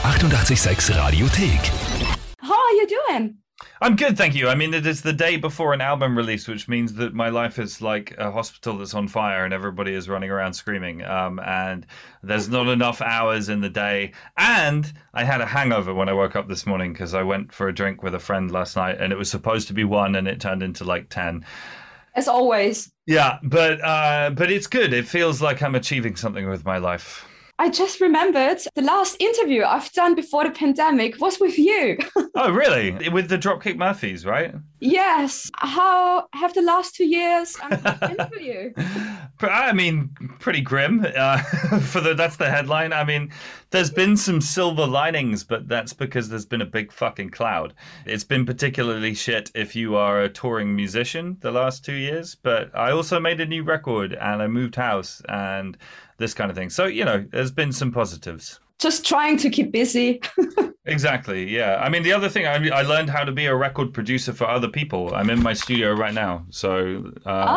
886 Radiothek. How are you doing? I'm good, thank you. I mean, it is the day before an album release, which means that my life is like a hospital that's on fire and everybody is running around screaming. And there's not enough hours in the day. And I had a hangover when I woke up this morning because I went for a drink with a friend last night and it was supposed to be 1 and it turned into like 10. As always. Yeah, but it's good. It feels like I'm achieving something with my life. I just remembered the last interview I've done before the pandemic was with you. Oh, really? With the Dropkick Murphys, right? Yes. How have the last 2 years been for you? I mean, pretty grim. That's the headline. I mean, there's been some silver linings, but that's because there's been a big fucking cloud. It's been particularly shit if you are a touring musician the last 2 years. But I also made a new record and I moved house and this kind of thing. So, you know, there's been some positives. Just trying to keep busy. Exactly, yeah. I mean, the other thing, I learned how to be a record producer for other people. I'm in my studio right now. So,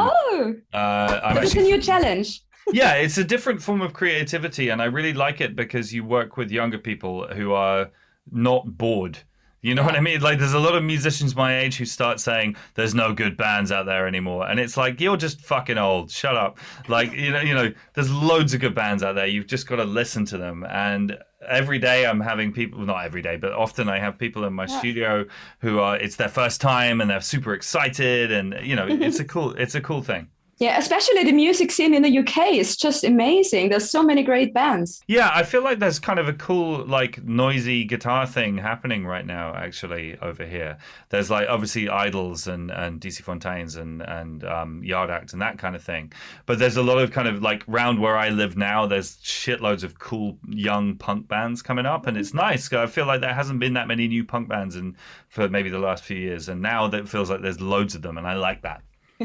it's a new challenge. Yeah, it's a different form of creativity. And I really like it because you work with younger people who are not bored. You know what I mean? Like, there's a lot of musicians my age who start saying there's no good bands out there anymore. And it's like, you're just fucking old. Shut up. Like, you know, there's loads of good bands out there. You've just got to listen to them. And every day I'm having people, not every day, but often I have people in my studio who it's their first time and they're super excited. And, you know, it's a cool thing. Yeah, especially the music scene in the UK is just amazing. There's so many great bands. Yeah, I feel like there's kind of a cool, like, noisy guitar thing happening right now, actually, over here. There's, like, obviously Idols and DC Fontaines and Yard Act and that kind of thing. But there's a lot of kind of, like, round where I live now, there's shitloads of cool young punk bands coming up. And it's nice. I feel like there hasn't been that many new punk bands for maybe the last few years. And now it feels like there's loads of them, and I like that.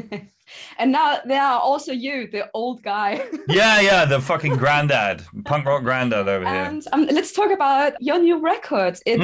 And now there are also you, the old guy. Yeah, the fucking granddad, punk rock granddad over here. And let's talk about your new record. It's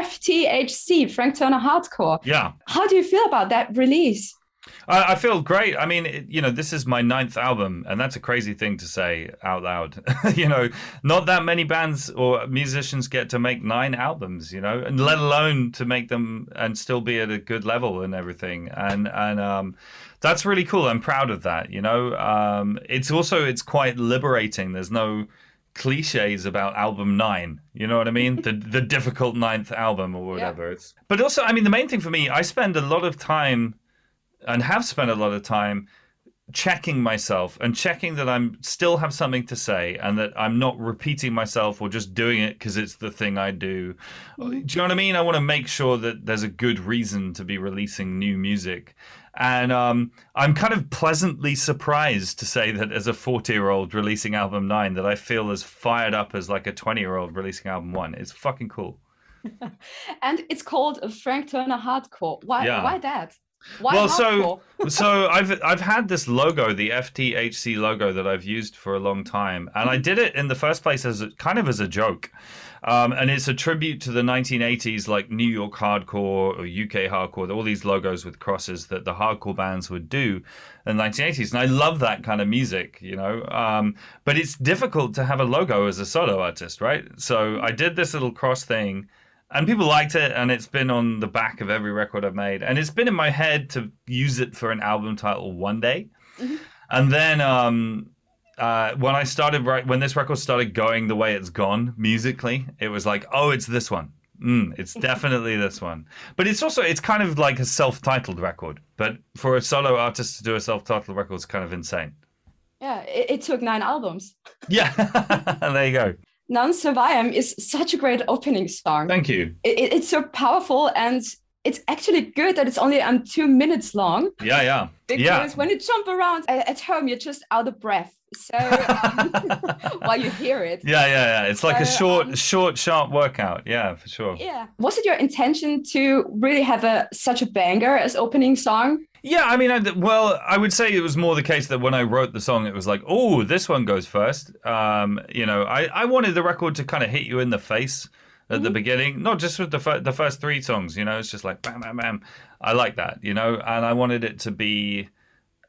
FTHC, Frank Turner Hardcore. Yeah. How do you feel about that release? I feel great. I mean, you know, this is my 9th album, and that's a crazy thing to say out loud. You know, not that many bands or musicians get to make 9 albums, you know, and let alone to make them and still be at a good level and everything. And that's really cool. I'm proud of that, you know. It's quite liberating. There's no cliches about album 9, you know what I mean? The difficult 9th album or whatever. Yeah. But also, I mean, the main thing for me, I spend a lot of time and have spent a lot of time checking myself and checking that I'm still have something to say and that I'm not repeating myself or just doing it because it's the thing I do. Do you know what I mean? I want to make sure that there's a good reason to be releasing new music. And I'm kind of pleasantly surprised to say that as a 40-year-old releasing album 9 that I feel as fired up as like a 20-year-old releasing album 1. It's fucking cool. And it's called Frank Turner Hardcore. Why that? Why well, hardcore? so I've had this logo, the FTHC logo, that I've used for a long time, and I did it in the first place as a joke, and it's a tribute to the 1980s, like New York hardcore or UK hardcore, all these logos with crosses that the hardcore bands would do in the 1980s, and I love that kind of music, you know. But it's difficult to have a logo as a solo artist, right? So I did this little cross thing. And people liked it, and it's been on the back of every record I've made. And it's been in my head to use it for an album title one day. Mm-hmm. And then when this record started going the way it's gone musically, it was like, oh, it's this one. It's definitely this one. But it's kind of like a self-titled record. But for a solo artist to do a self-titled record is kind of insane. Yeah, it took 9 albums. Yeah, there you go. Non Survive is such a great opening song. Thank you. It's so powerful, and it's actually good that it's only 2 minutes long. Yeah. Because when you jump around at home, you're just out of breath. So while you hear it. Yeah. It's like a short, sharp workout. Yeah, for sure. Yeah. Was it your intention to really have such a banger as opening song? Yeah, I mean, I would say it was more the case that when I wrote the song, it was like, oh, this one goes first. You know, I wanted the record to kind of hit you in the face at the beginning, not just with the first 3 songs, you know, it's just like bam, bam, bam. I like that, you know, and I wanted it to be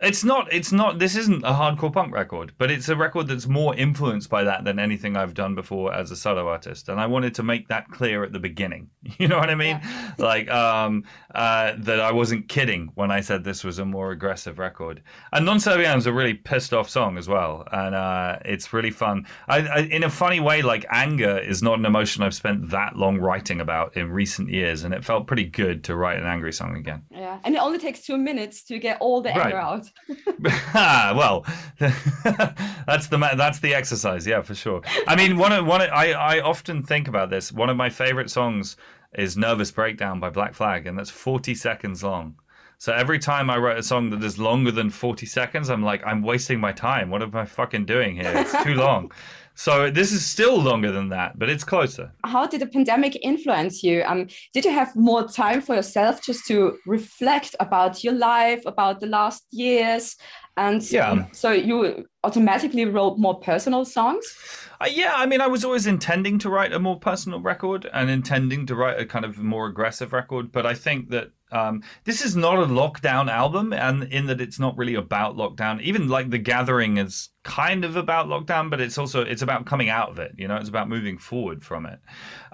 It's not, this isn't a hardcore punk record, but it's a record that's more influenced by that than anything I've done before as a solo artist. And I wanted to make that clear at the beginning. You know what I mean? Yeah. Like, that I wasn't kidding when I said this was a more aggressive record. And Non Serviam's a really pissed off song as well. And it's really fun. I, in a funny way, like, anger is not an emotion I've spent that long writing about in recent years. And it felt pretty good to write an angry song again. Yeah, and it only takes 2 minutes to get all the anger out. Well, that's the exercise, yeah, for sure. I mean, I often think about this. One of my favorite songs is "Nervous Breakdown" by Black Flag, and that's 40 seconds long. So every time I write a song that is longer than 40 seconds, I'm like, I'm wasting my time. What am I fucking doing here? It's too long. So this is still longer than that, but it's closer. How did the pandemic influence you? Did you have more time for yourself just to reflect about your life, about the last years? And so you automatically wrote more personal songs? Yeah, I mean, I was always intending to write a more personal record and intending to write a kind of more aggressive record. But I think that this is not a lockdown album, and in that it's not really about lockdown. Even like The Gathering is kind of about lockdown, but it's about coming out of it. You know, it's about moving forward from it.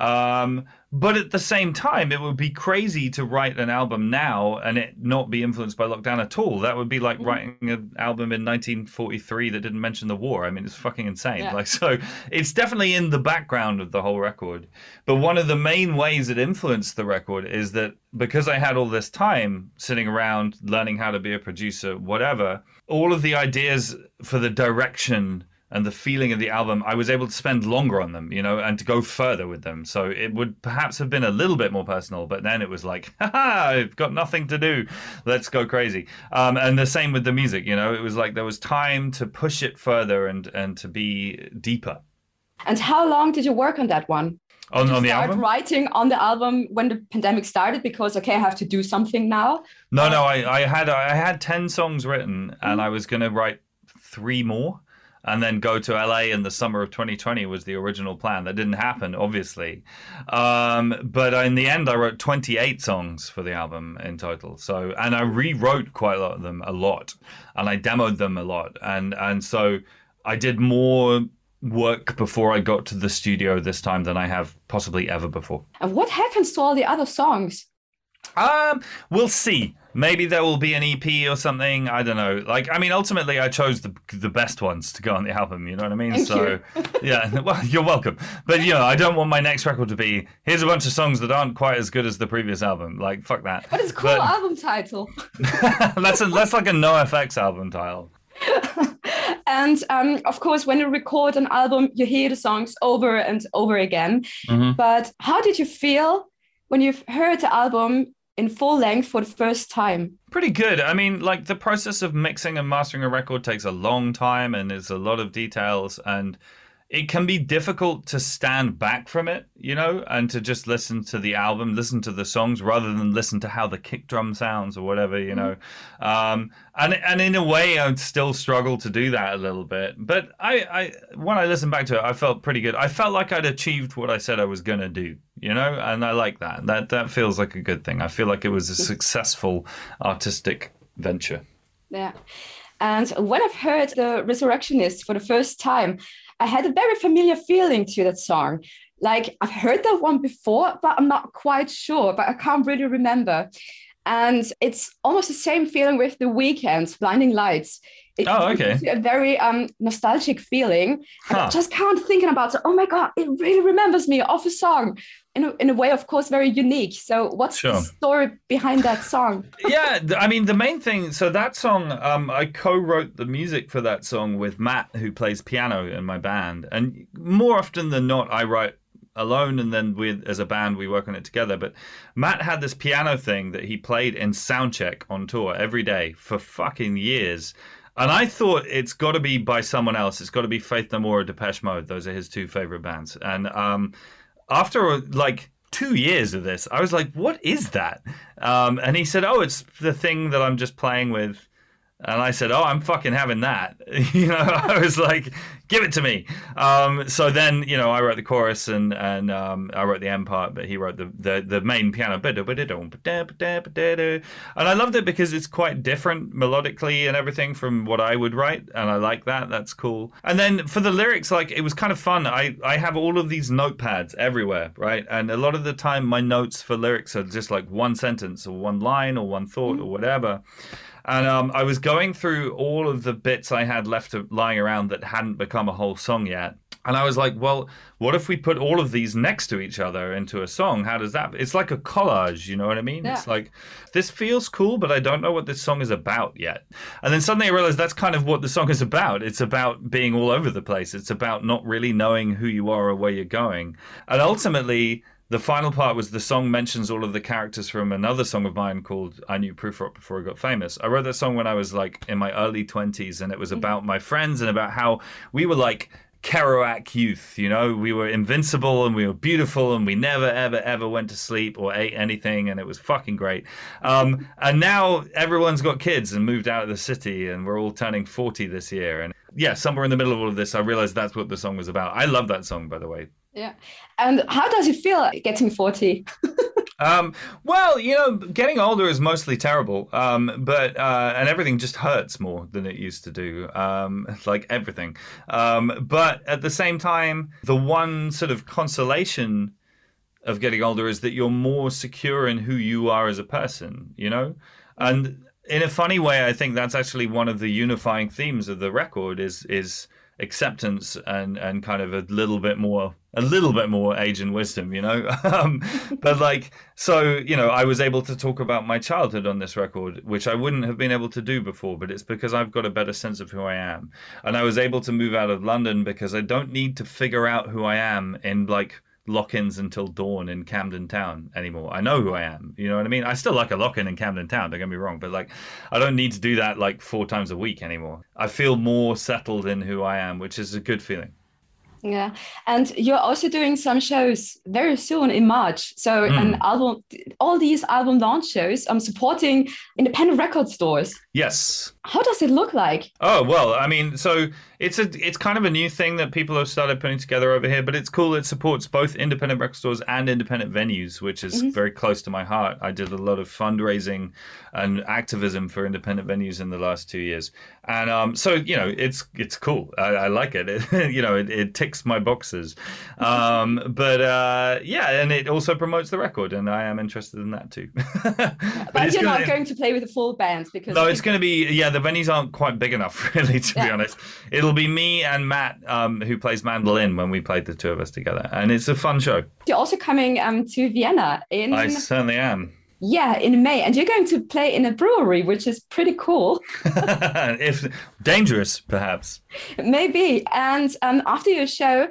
But at the same time, it would be crazy to write an album now and it not be influenced by lockdown at all. That would be like writing an album in 1943 that didn't mention the war. I mean, it's fucking insane. Yeah. Like, so it's definitely in the background of the whole record. But one of the main ways it influenced the record is that because I had all this time sitting around learning how to be a producer, whatever, all of the ideas for the direction and the feeling of the album, I was able to spend longer on them, you know, and to go further with them. So it would perhaps have been a little bit more personal, but then it was like, haha, I've got nothing to do. Let's go crazy. And the same with the music, you know, it was like there was time to push it further and to be deeper. And how long did you work on that one? On the album? Start writing on the album when the pandemic started because, okay, I have to do something now? No, I had 10 songs written and I was going to write 3 more. And then go to LA in the summer of 2020 was the original plan. That didn't happen, obviously. But in the end, I wrote 28 songs for the album in total. So, and I rewrote quite a lot of them a lot. And I demoed them a lot. And so I did more work before I got to the studio this time than I have possibly ever before. And what happens to all the other songs? We'll see. Maybe there will be an EP or something. I don't know. Like, I mean, ultimately, I chose the best ones to go on the album. You know what I mean? Thank you. Yeah. Well, you're welcome. But you know, I don't want my next record to be here's a bunch of songs that aren't quite as good as the previous album. Like, fuck that. But it's a cool album title. That's like a NoFX album title. And of course, when you record an album, you hear the songs over and over again. Mm-hmm. But how did you feel when you've heard the album in full length for the first time? Pretty good. I mean, like, the process of mixing and mastering a record takes a long time and there's a lot of details, and it can be difficult to stand back from it, you know, and to just listen to the album, listen to the songs rather than listen to how the kick drum sounds or whatever, you know. And in a way, I would still struggle to do that a little bit. But I when I listened back to it, I felt pretty good. I felt like I'd achieved what I said I was going to do, you know, and I like that. That feels like a good thing. I feel like it was a successful artistic venture. Yeah. And when I've heard The Resurrectionist for the first time, I had a very familiar feeling to that song. Like, I've heard that one before, but I'm not quite sure, but I can't really remember. And it's almost the same feeling with The Weeknd's Blinding Lights. It gives you a very nostalgic feeling. And I just can't think about it. Oh my God, it really remembers me of a song. In a way, of course, very unique. So what's the story behind that song? Yeah, I mean, the main thing, so that song, I co-wrote the music for that song with Matt, who plays piano in my band. And more often than not, I write alone, and then as a band, we work on it together. But Matt had this piano thing that he played in soundcheck on tour every day for fucking years. And I thought it's got to be by someone else. It's got to be Faith No More or Depeche Mode. Those are his 2 favorite bands. And after like 2 years of this, I was like, what is that? And he said, oh, it's the thing that I'm just playing with And I said, "Oh, I'm fucking having that." I was like, "Give it to me." So then, I wrote the chorus and I wrote the end part, but he wrote the main piano. And I loved it because it's quite different melodically and everything from what I would write, and I like that. That's cool. And then for the lyrics, like, it was kind of fun. I have all of these notepads everywhere, right? And a lot of the time, my notes for lyrics are just like one sentence or one line or one thought or whatever. And I was going through all of the bits I had left lying around that hadn't become a whole song yet. And I was like, well, what if we put all of these next to each other into a song? How does that... It's like a collage, you know what I mean? Yeah. It's like, this feels cool, but I don't know what this song is about yet. And then suddenly I realized that's kind of what the song is about. It's about being all over the place. It's about not really knowing who you are or where you're going. And ultimately... the final part was the song mentions all of the characters from another song of mine called I Knew Proof Rock Before I Got Famous. I wrote that song when I was like in my early 20s, and it was about my friends and about how we were like Kerouac youth, we were invincible and we were beautiful and we never, ever, ever went to sleep or ate anything, and it was fucking great. And now everyone's got kids and moved out of the city, and we're all turning 40 this year. And yeah, somewhere in the middle of all of this, I realized that's what the song was about. I love that song, by the way. Yeah. And how does it feel getting 40? Well, getting older is mostly terrible, but and everything just hurts more than it used to do, like everything. But at the same time, the one sort of consolation of getting older is that you're more secure in who you are as a person, And in a funny way, I think that's actually one of the unifying themes of the record is acceptance and kind of a little bit more age and wisdom, but like, so, I was able to talk about my childhood on this record, which I wouldn't have been able to do before, but it's because I've got a better sense of who I am. And I was able to move out of London because I don't need to figure out who I am in like lock-ins until dawn in Camden Town anymore. I know who I am, you know what I mean? I still like a lock-in in Camden Town, don't get me wrong, but like, I don't need to do that like 4 times a week anymore. I feel more settled in who I am, which is a good feeling. Yeah, and you're also doing some shows very soon in March. So an album, all these album launch shows, I'm supporting independent record stores. Yes. How does it look like? Oh, well, I mean, so it's kind of a new thing that people have started putting together over here, but it's cool. It supports both independent record stores and independent venues, which is very close to my heart. I did a lot of fundraising and activism for independent venues in the last 2 years. And so, it's cool. I like it. It ticks my boxes. But and it also promotes the record, and I am interested in that too. But you're not going to play with a full band because... No, it's going to be, the venues aren't quite big enough, really, to be honest. It'll be me and Matt, who plays mandolin, when we played the two of us together. And it's a fun show. You're also coming to Vienna in... I certainly am. Yeah, in May. And you're going to play in a brewery, which is pretty cool. If dangerous, perhaps. Maybe. And after your show,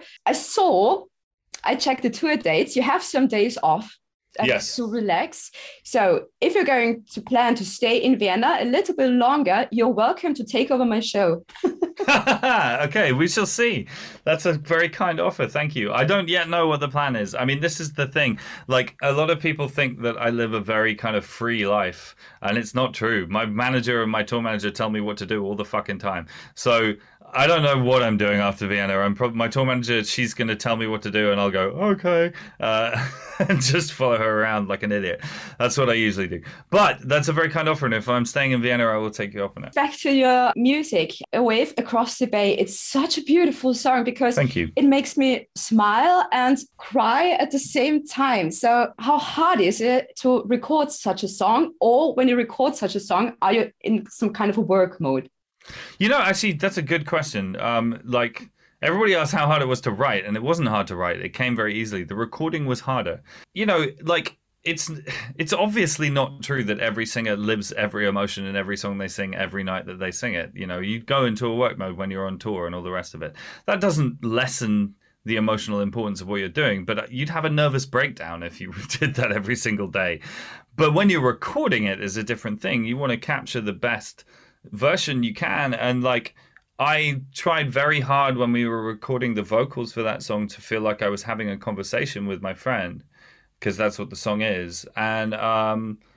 I checked the tour dates. You have some days off. Yes. To relax. So if you're going to plan to stay in Vienna a little bit longer, you're welcome to take over my show. Okay, we shall see. That's a very kind offer. Thank you. I don't yet know what the plan is. I mean, this is the thing. Like, a lot of people think that I live a very kind of free life, and it's not true. My manager and my tour manager tell me what to do all the fucking time. So I don't know what I'm doing after Vienna. My tour manager, she's going to tell me what to do, and I'll go, okay, and just follow her around like an idiot. That's what I usually do. But that's a very kind offer, and if I'm staying in Vienna, I will take you up on it. Back to your music, A Wave Across the Bay. It's such a beautiful song because Thank you. It makes me smile and cry at the same time. So how hard is it to record such a song? Or when you record such a song, are you in some kind of a work mode? Actually, that's a good question. Like, everybody asked how hard it was to write, and it wasn't hard to write. It came very easily. The recording was harder. Like, it's obviously not true that every singer lives every emotion in every song they sing every night that they sing it. You go into a work mode when you're on tour and all the rest of it. That doesn't lessen the emotional importance of what you're doing, but you'd have a nervous breakdown if you did that every single day. But when you're recording it is a different thing. You want to capture the best version you can, and like, I tried very hard when we were recording the vocals for that song to feel like I was having a conversation with my friend, because that's what the song is. And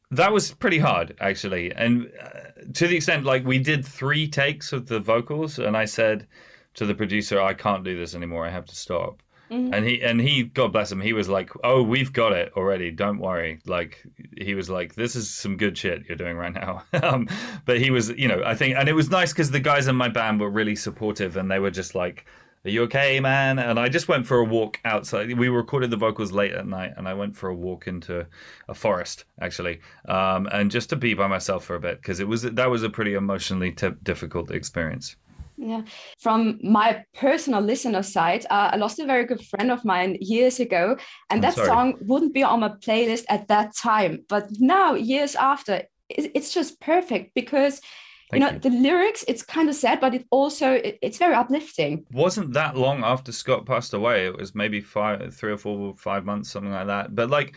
That was pretty hard, actually. And to the extent, like, we did 3 takes of the vocals, and I said to the producer, I can't do this anymore. I have to stop. Mhm. And he, God bless him, he was like, "Oh, we've got it already. Don't worry." Like, he was like, "This is some good shit you're doing right now." But he was, I think, and it was nice because the guys in my band were really supportive, and they were just like, "Are you okay, man?" And I just went for a walk outside. We recorded the vocals late at night, and I went for a walk into a forest, actually, and just to be by myself for a bit, because that was a pretty emotionally difficult experience. Yeah. From my personal listener side, I lost a very good friend of mine years ago, and I'm that sorry. song wouldn't be on my playlist at that time. But now, years after, it's just perfect because, Thank you. the lyrics, it's kind of sad, but it's very uplifting. Wasn't that long after Scott passed away. It was maybe 3 or 4, 5 months, something like that. But like,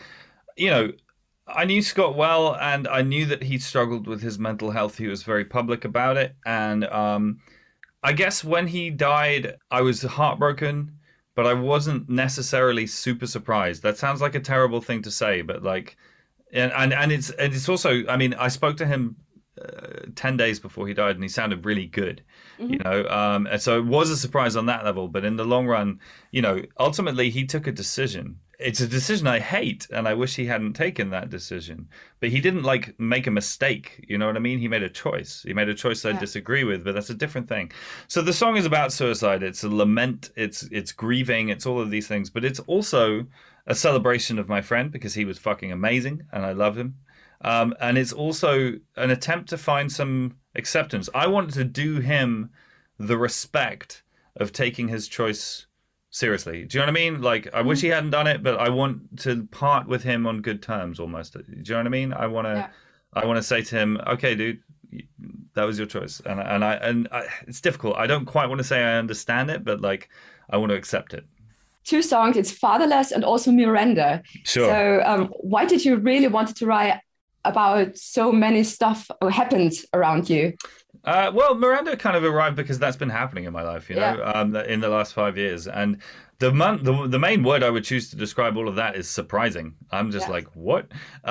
I knew Scott well, and I knew that he struggled with his mental health. He was very public about it. And I guess when he died, I was heartbroken, but I wasn't necessarily super surprised. That sounds like a terrible thing to say, but like, and it's also, I mean, I spoke to him 10 days before he died, and he sounded really good, and so it was a surprise on that level. But in the long run, ultimately he took a decision. It's a decision I hate, and I wish he hadn't taken that decision. But he didn't like make a mistake. You know what I mean? He made a choice. He made a choice I disagree with, but that's a different thing. So the song is about suicide. It's a lament. It's grieving. It's all of these things. But it's also a celebration of my friend, because he was fucking amazing, and I love him. And it's also an attempt to find some acceptance. I want to do him the respect of taking his choice seriously. Do you know what I mean? Like, I wish he hadn't done it, but I want to part with him on good terms almost. Do you know what I mean? I want to say to him, okay, dude, that was your choice. And it's difficult. I don't quite want to say I understand it, but like, I want to accept it. 2 songs, it's Fatherless and also Miranda. Sure. So why did you really want to write about so many stuff happened around you? Well, Miranda kind of arrived because that's been happening in my life, in the last 5 years. And the main word I would choose to describe all of that is surprising. I'm just like, what?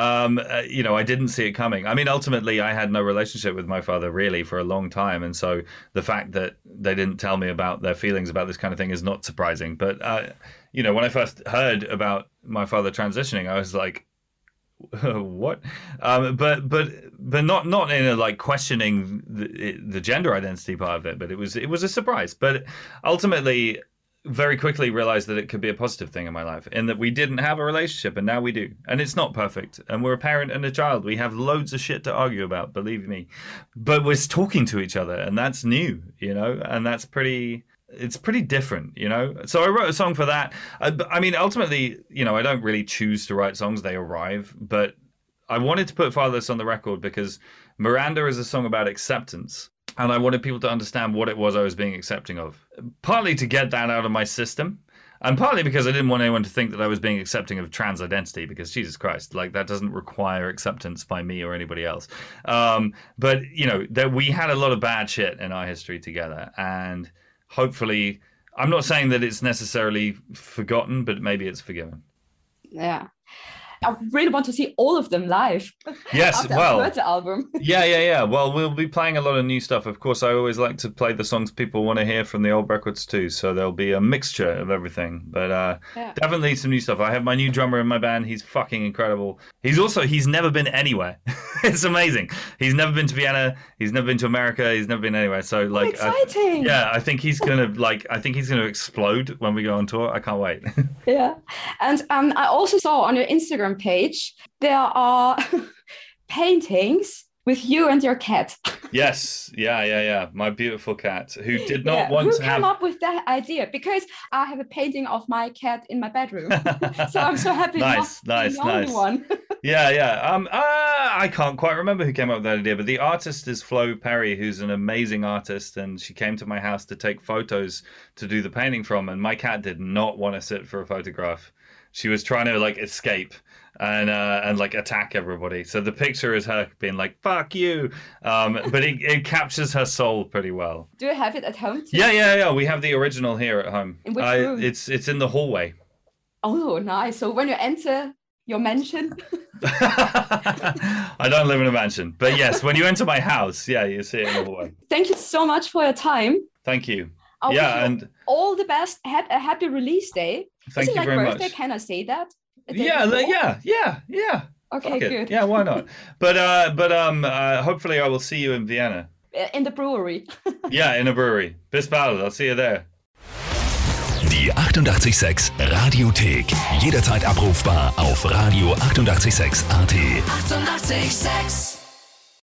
I didn't see it coming. I mean, ultimately, I had no relationship with my father really for a long time. And so the fact that they didn't tell me about their feelings about this kind of thing is not surprising. But, when I first heard about my father transitioning, I was like, what? But not in a like questioning the gender identity part of it, but it was a surprise. But ultimately, very quickly realized that it could be a positive thing in my life, in that we didn't have a relationship and now we do, and it's not perfect. And we're a parent and a child. We have loads of shit to argue about, believe me, but we're talking to each other, and that's new, and that's pretty. It's pretty different, So I wrote a song for that. I mean, ultimately, I don't really choose to write songs. They arrive. But I wanted to put Fatherless on the record because Miranda is a song about acceptance. And I wanted people to understand what it was I was being accepting of. Partly to get that out of my system. And partly because I didn't want anyone to think that I was being accepting of trans identity, because Jesus Christ, like that doesn't require acceptance by me or anybody else. But, that we had a lot of bad shit in our history together. And hopefully, I'm not saying that it's necessarily forgotten, but maybe it's forgiven. Yeah. I really want to see all of them live. Yes, well, I heard the album. Yeah. Well, we'll be playing a lot of new stuff. Of course, I always like to play the songs people want to hear from the old records too. So there'll be a mixture of everything. But definitely some new stuff. I have my new drummer in my band. He's fucking incredible. He's never been anywhere. It's amazing. He's never been to Vienna. He's never been to America. He's never been anywhere. So like, exciting. I think he's gonna explode when we go on tour. I can't wait. Yeah, and I also saw on your Instagram page there are paintings with you and your cat. Yes, yeah. My beautiful cat, who did not want to have. Who came up with that idea? Because I have a painting of my cat in my bedroom, so I'm so happy. Nice. The only one. Yeah. I can't quite remember who came up with that idea, but the artist is Flo Perry, who's an amazing artist, and she came to my house to take photos to do the painting from. And my cat did not want to sit for a photograph. She was trying to like escape and like attack everybody. So the picture is her being like, fuck you. But it captures her soul pretty well. Do you have it at home too? Yeah. We have the original here at home. In which room? It's in the hallway. Oh, nice. So when you enter your mansion? I don't live in a mansion, but yes, when you enter my house, yeah, you see it in the hallway. Thank you so much for your time. Thank you. I wish Yeah, you and all the best. A happy release day. thank Is it you like very birthday? much. Can I say that? A day Yeah, before? yeah. Okay, Fuck it. good. Yeah, why not? But hopefully I will see you in Vienna. In the brewery. Yeah, in a brewery. Bis bald. I'll see you there. Die 88,6 Radiothek. Jederzeit abrufbar auf radio886.at. 88,6. Eighty-eight, 6.